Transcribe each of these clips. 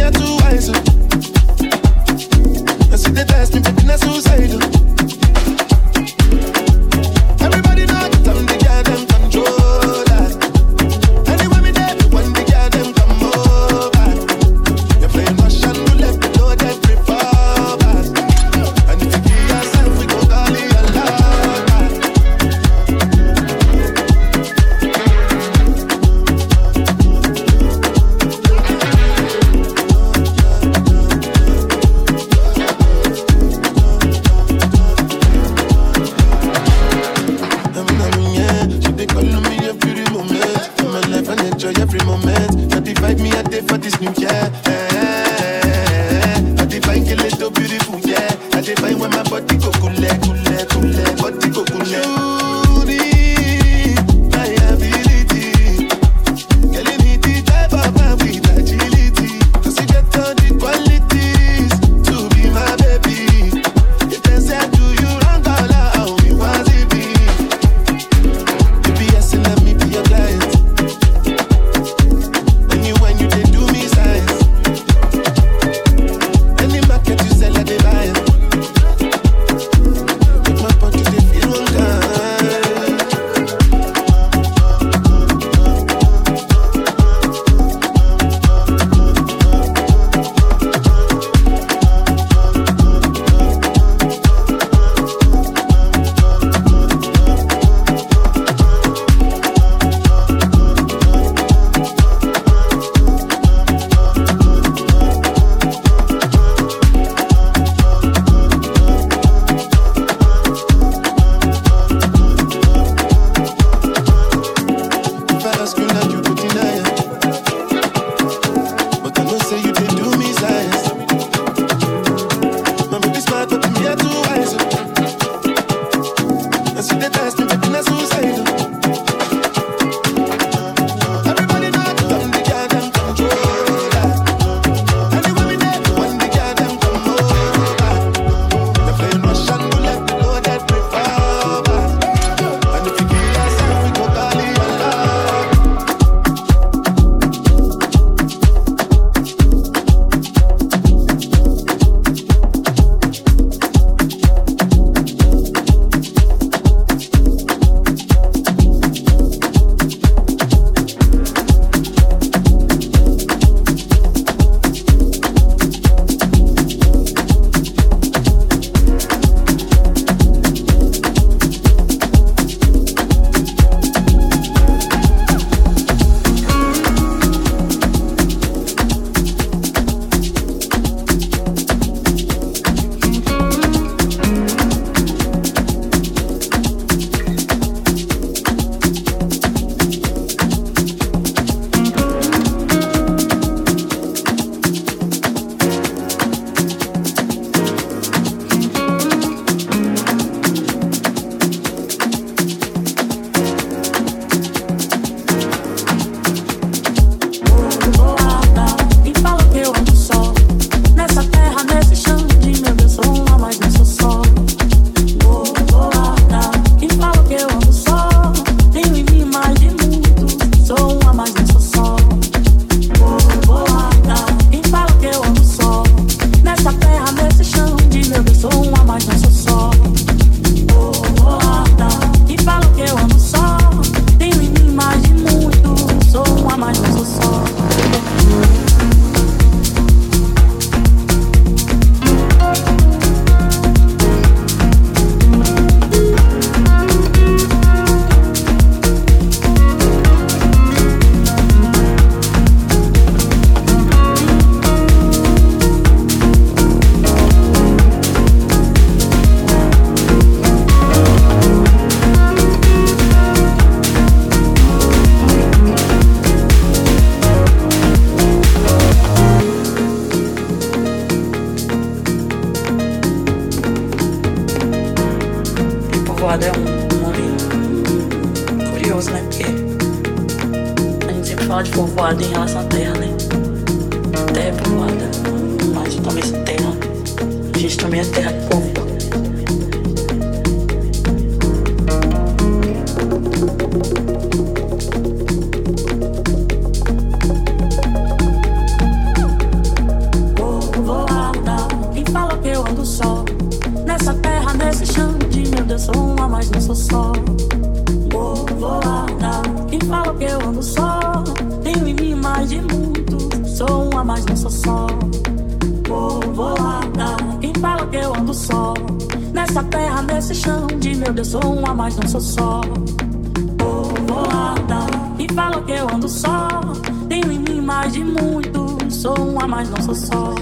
are too wise. I see the test me, baby, not suicidal. Everybody know that I'm the girl them controller. Anywhere me there, when the girl them come over, you're playing Russian roulette, below that revolver. And if you give yourself, we go call it your lover. Every moment, 35 me a day for this new year. I define kill it so beautiful, yeah. I define when my body go cool, body go cool. You need my ability, girl you need the type of man with agility. 'Cause you get all the qualities to be my baby. If they say do you wrong, how me was it be? Baby, yes, let me be your client. When you did do me size, any market you sell at the buy. Make my body they feel one kind. If I ask you now, you go deny it. But I know say you did do me size. My baby smart, but me are too wise. I see the test me, baby, not suicidal. Everybody know that I'm the girl them controller. Anywhere we there, when the girl them come over, you're playing Russian roulette, below that revolver. And if you kill yourself, we go call it your love. Povoado é um nome curioso, né? Porque a gente sempre fala de povoado em relação à terra, né? Terra é povoada, mas também sem terra. A gente também é terra de povo. sou só. Povoada, quem fala que eu ando só? Tenho em mim mais de muito, sou uma, mas não sou só. Povoada, quem fala que eu ando só? Nessa terra, nesse chão de meu Deus, sou uma, mas não sou só. Povoada, quem fala que eu ando só? Tenho em mim mais de muito, sou uma, mas não sou só.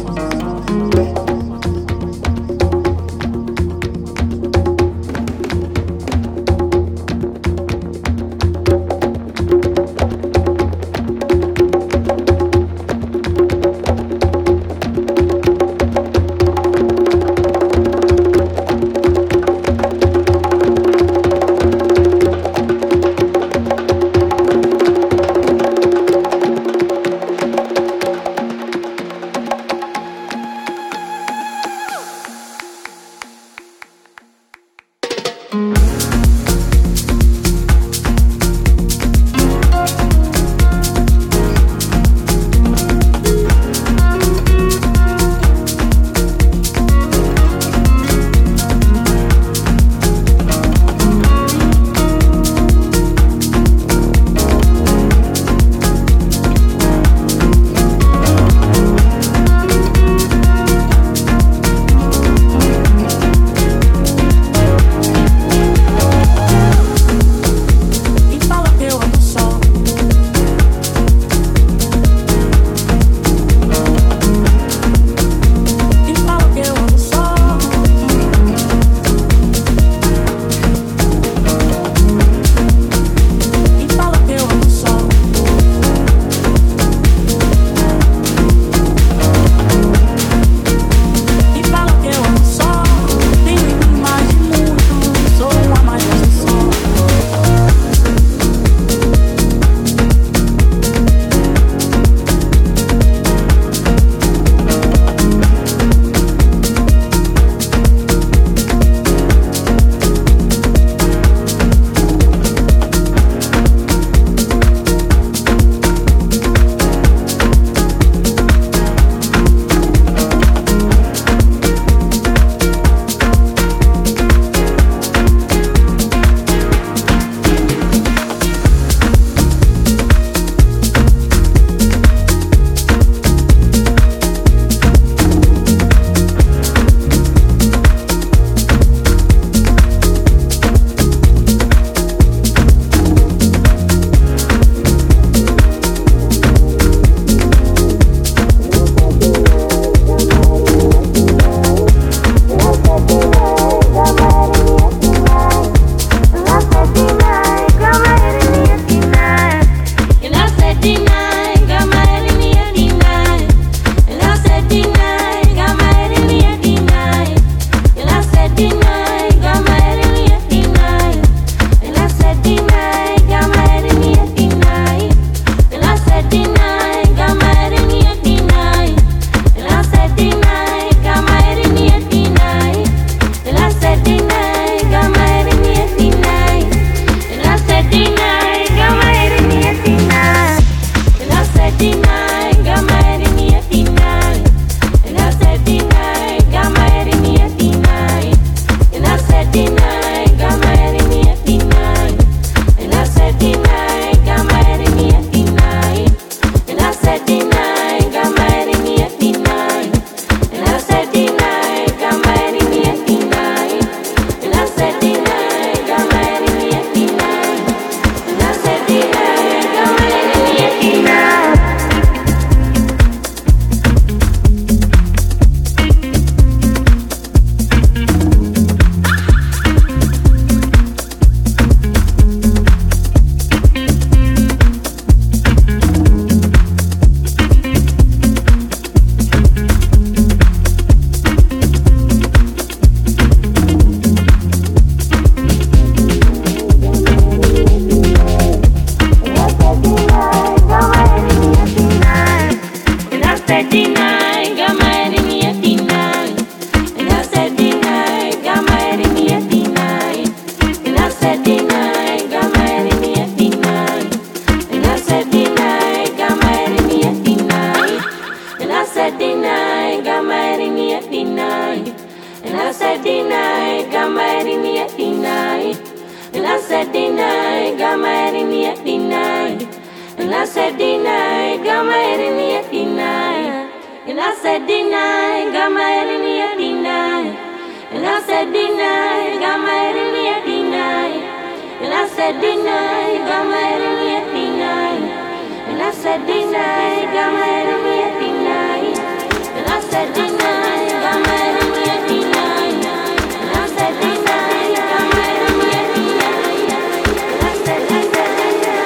And I said deny, got my head in the air, deny. And I said deny, got my head in the air, deny. And I said deny, got my head in the air, deny. And I said deny, got my head in the air, deny. And I said deny, got my head in the air, deny. And I said deny, got my head in the air, deny. And I said deny, got my head in the air, deny. And I said deny, got my head in the air, deny. And I said deny, got my head in the air,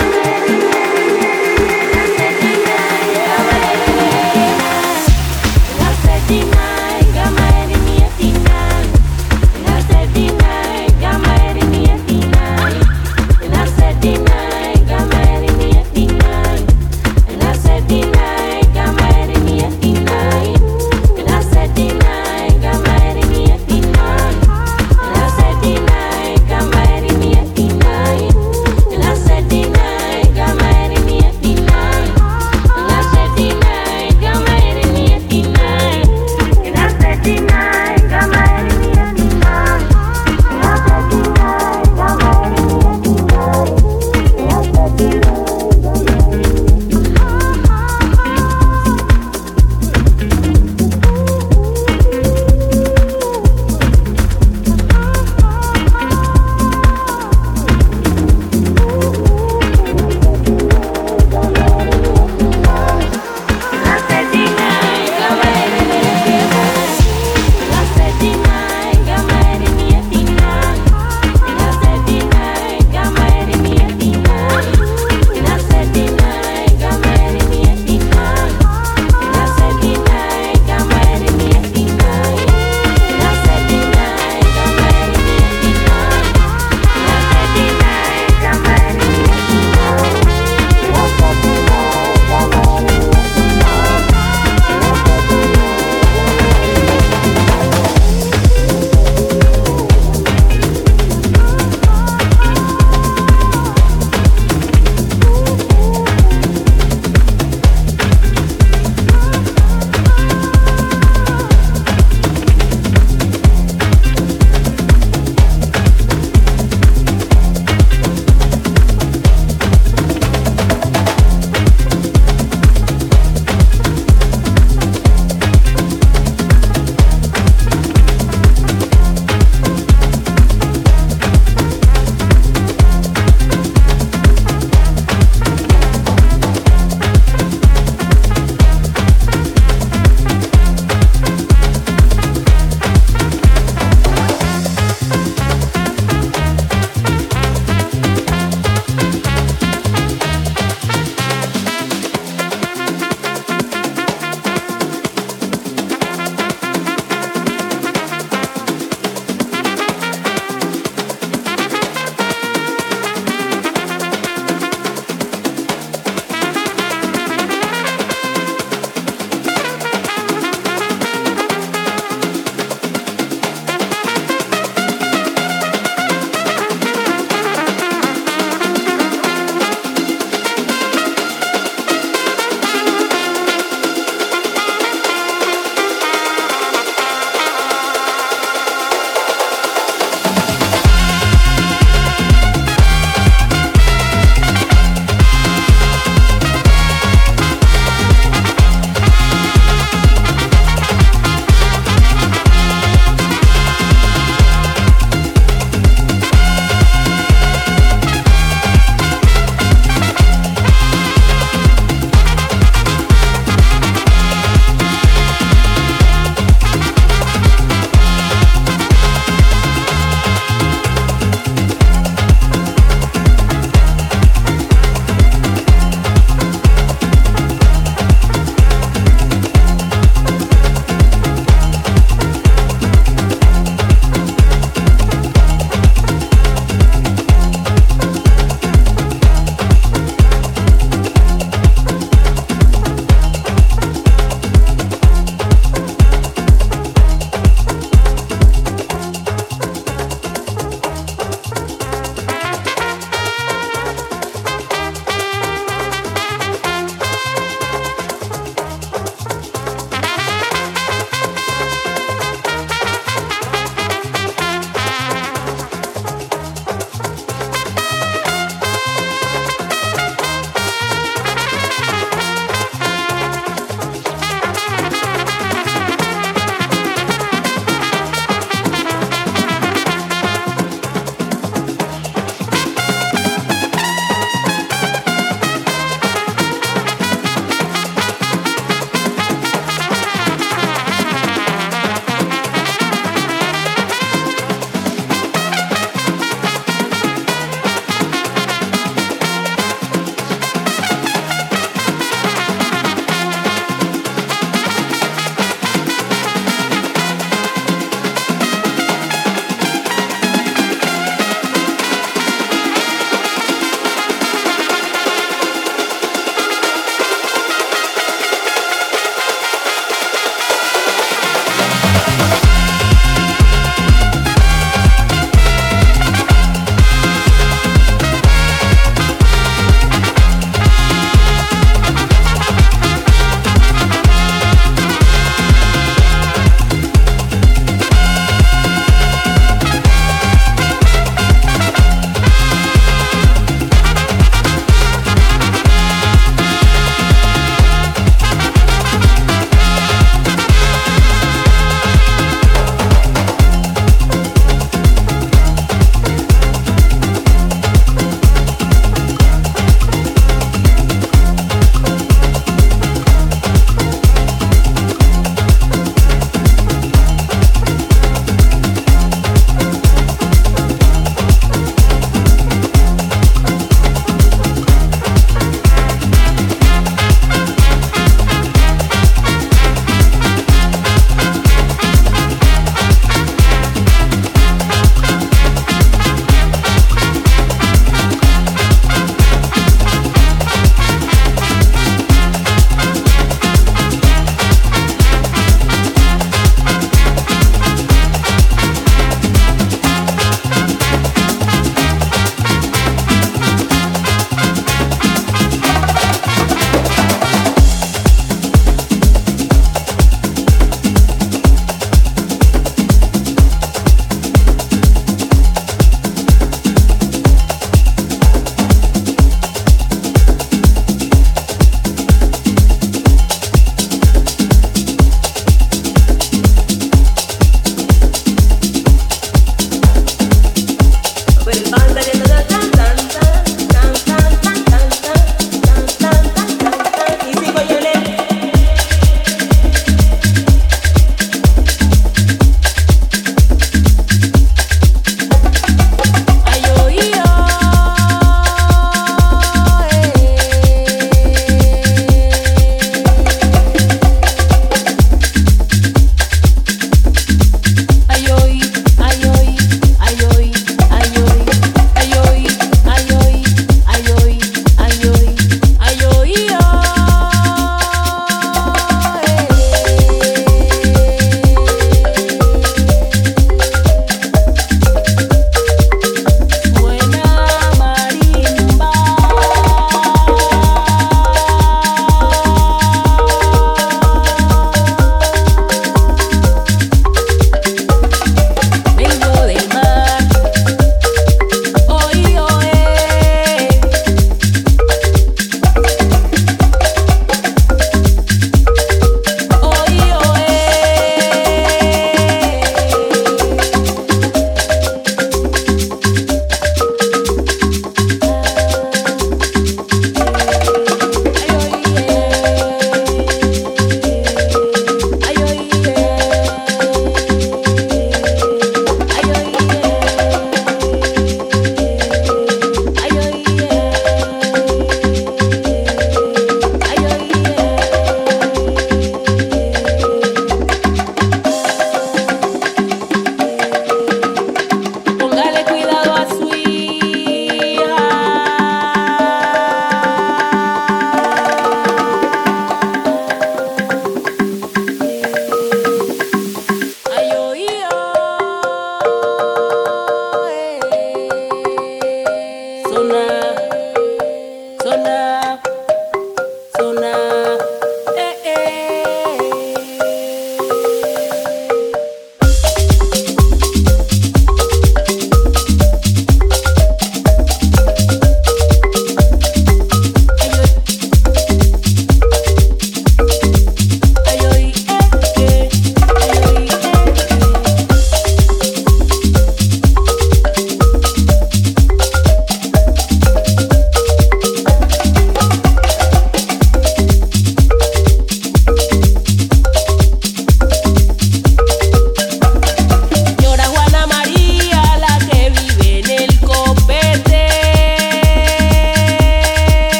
and I said deny, got my head in the air, deny. And I said deny, got my head in the air, deny. And I said deny, got my head in the air, deny. And I said deny, got my head in the air, deny. And I said deny, got my head in the air, deny. And I said deny, got my head in the air, deny. And I said deny, got my head in the air, deny. And I said deny, got my head in the air, deny.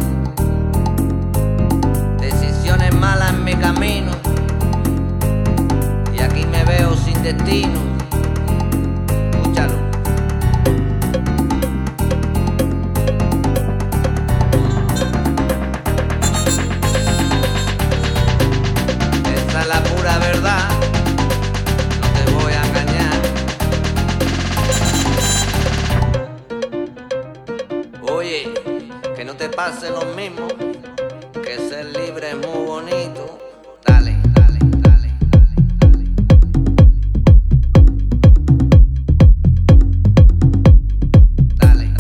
decisiones malas en mi camino, y aquí me veo sin destino. Escúchalo. Esa es la pura verdad, no te voy a engañar. Oye, que no te pase lo mismo, que ser libre es muy bonito. Dale, dale, dale, dale, dale.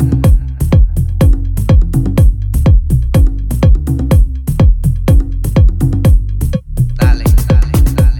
Dale, dale, dale.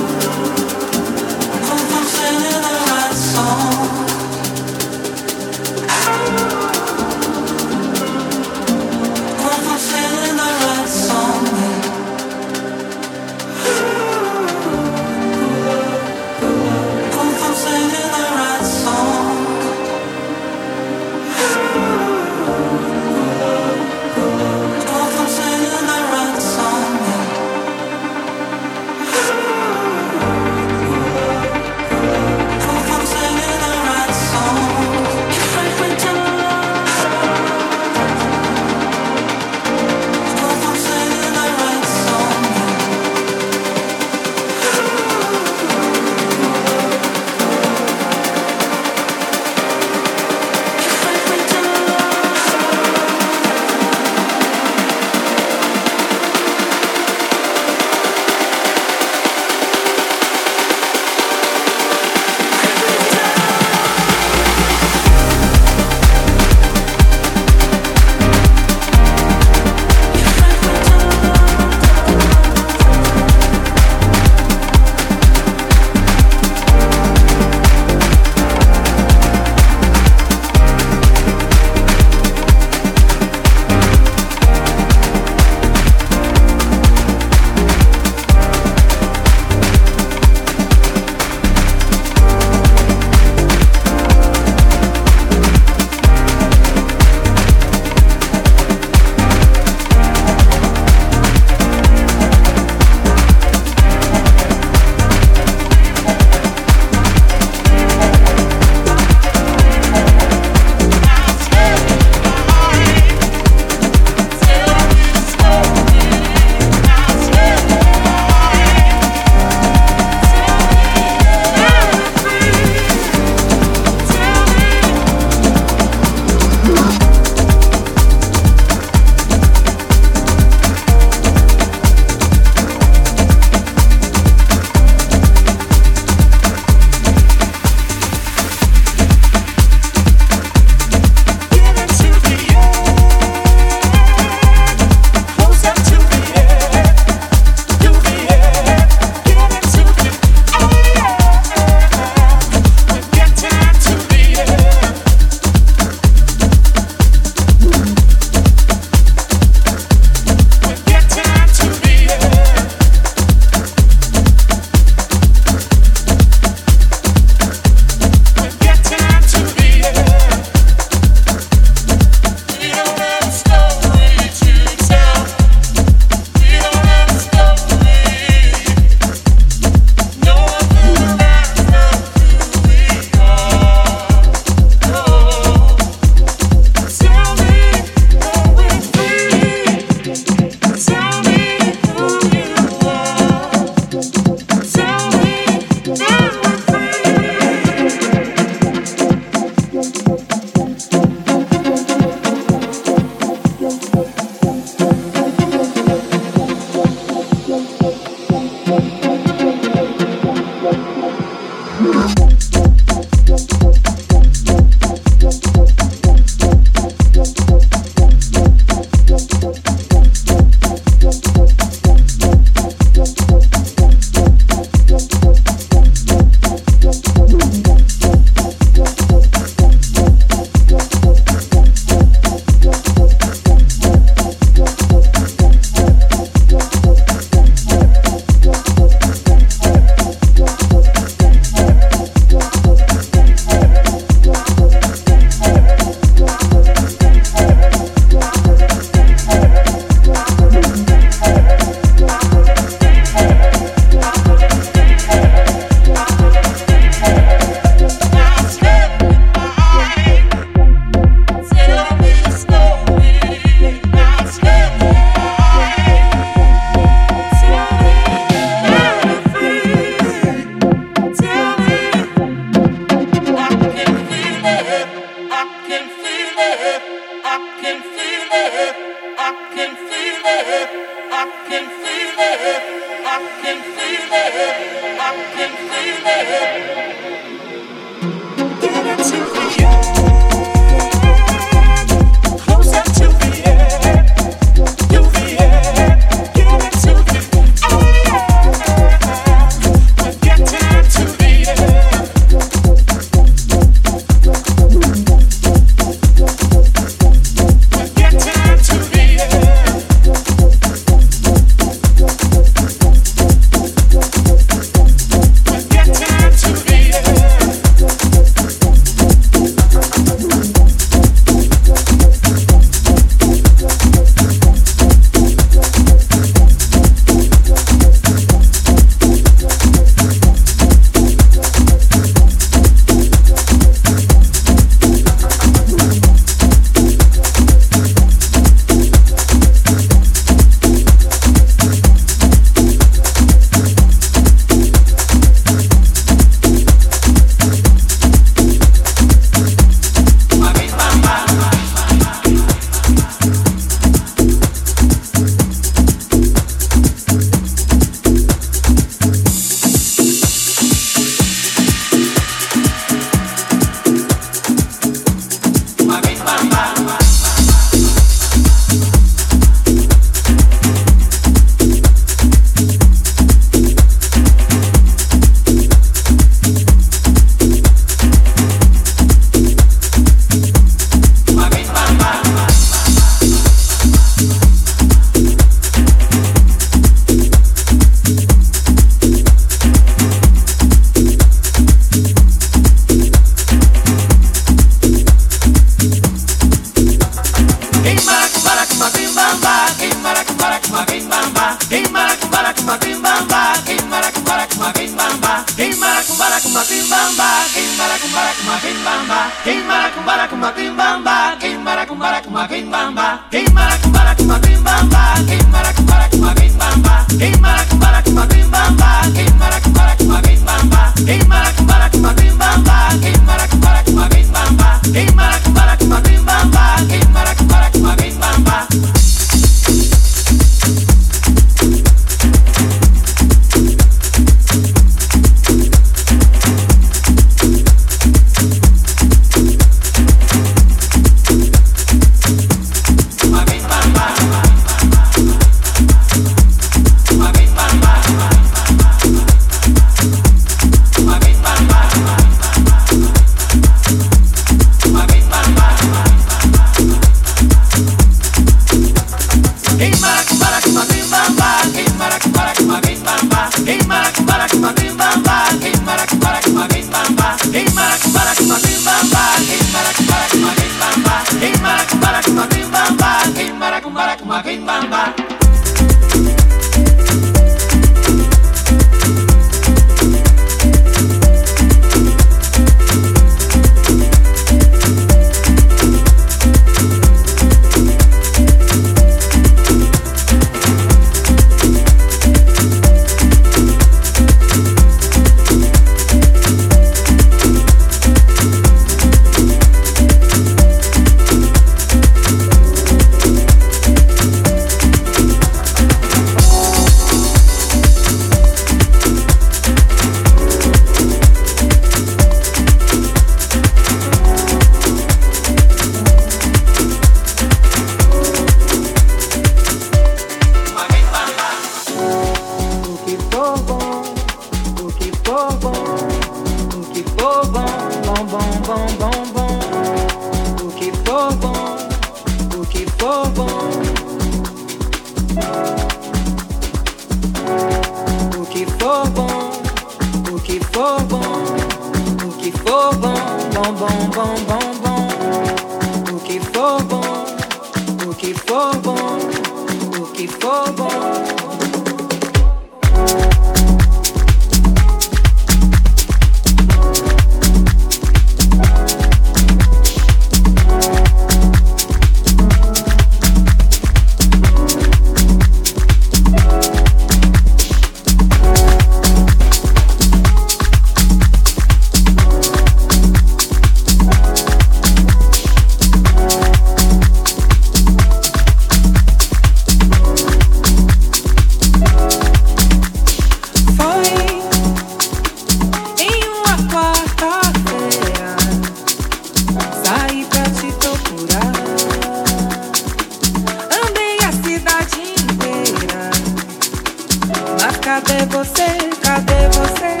cadê você?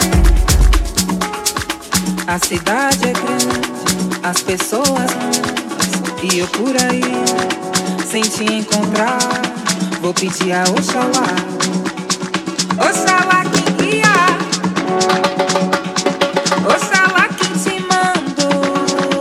A cidade é grande, as pessoas muitas, e eu por aí, sem te encontrar, vou pedir a Oxalá. Oxalá quem guia, Oxalá quem te mandou.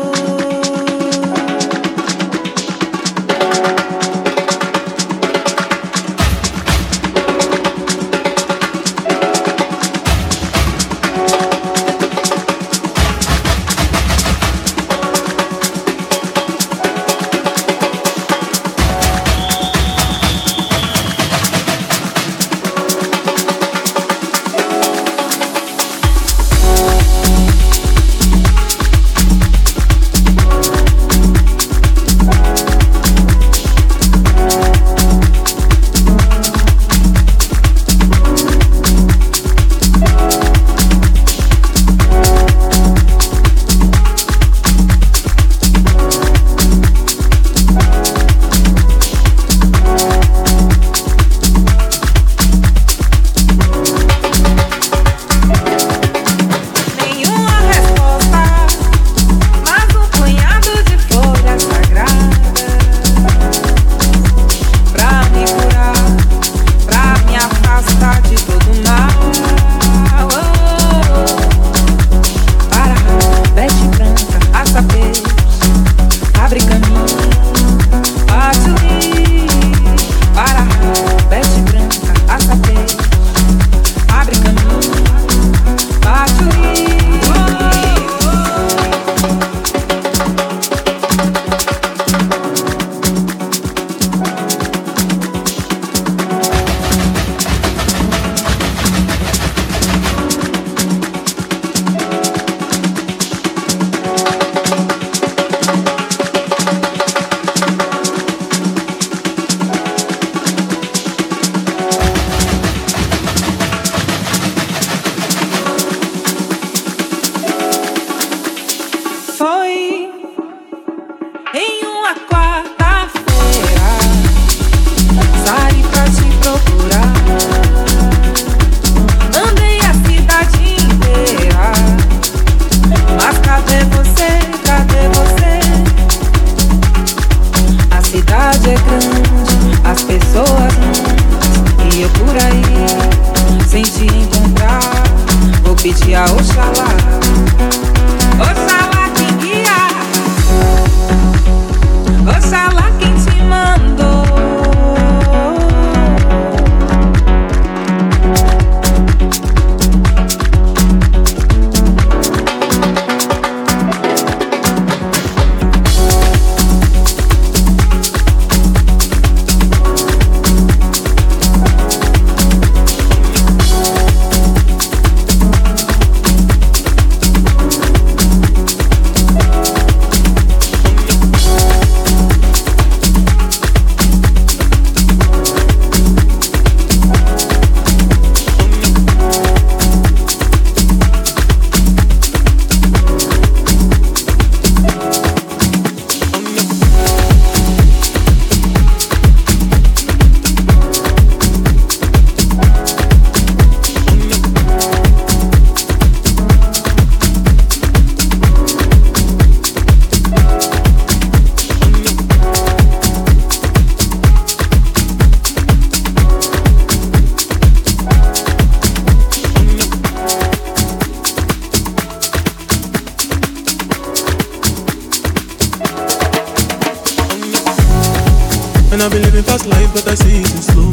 And I've been living fast life, but I see it in slow.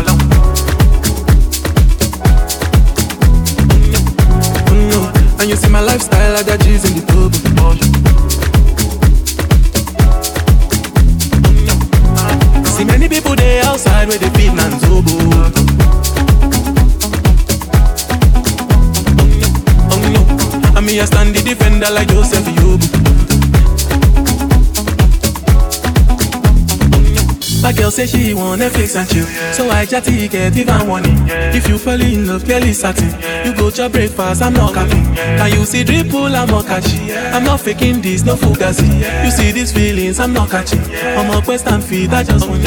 And you see my lifestyle, I got G's in the tub. See many people there outside where they feed and zobo. And me I stand the defender like Joseph Yobo. My girl say she want Netflix and chill, so I just ticket even warning. If you fall in love, clearly certain. You go to breakfast, I'm not capping. Can you see dripple, I'm not catching. I'm not faking this, no fugazi. You see these feelings, I'm not catching. I'm a quest and feed, I just want.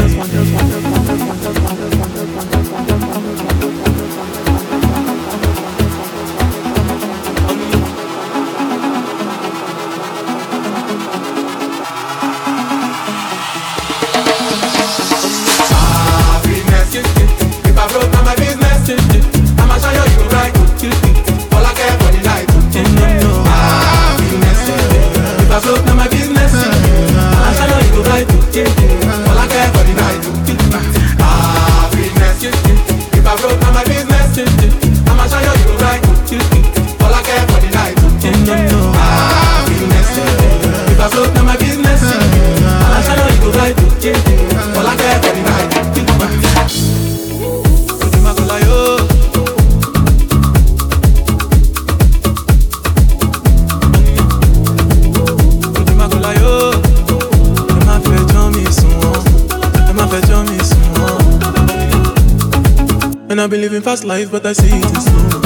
I've been living fast life, but I see it in slow.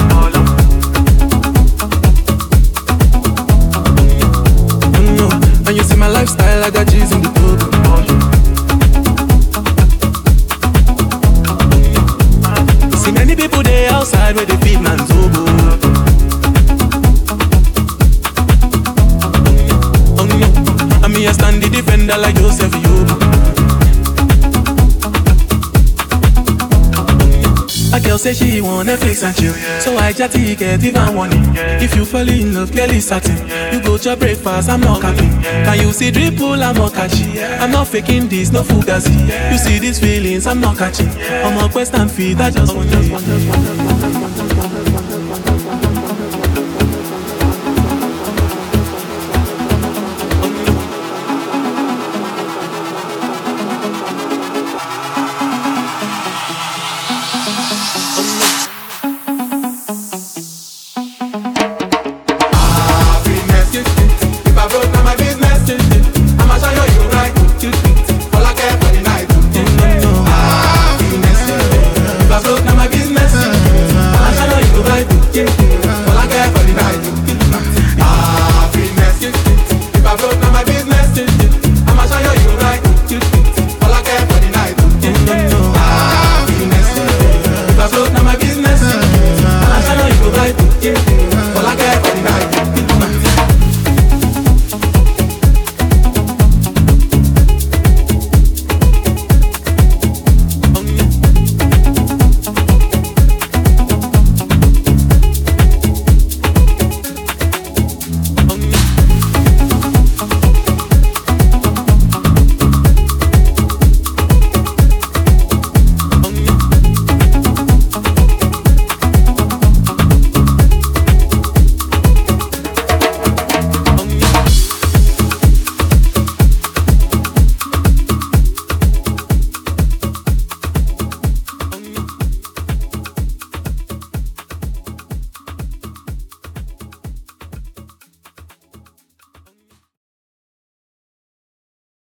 No, and you see my lifestyle, I got G's in the book. See many people there outside where they feed man's oboe. Oh no, and me I stand the defender like Joseph Yobo. A girl say she want Netflix and chill, so I chatty get even warning. If you fall in love, clearly certain. You go to breakfast, I'm not capping. Can you see dripple, I'm not catching. I'm not faking this, no fugazi. You see these feelings, I'm not catching. I'm on quest and feed, I just want to. All I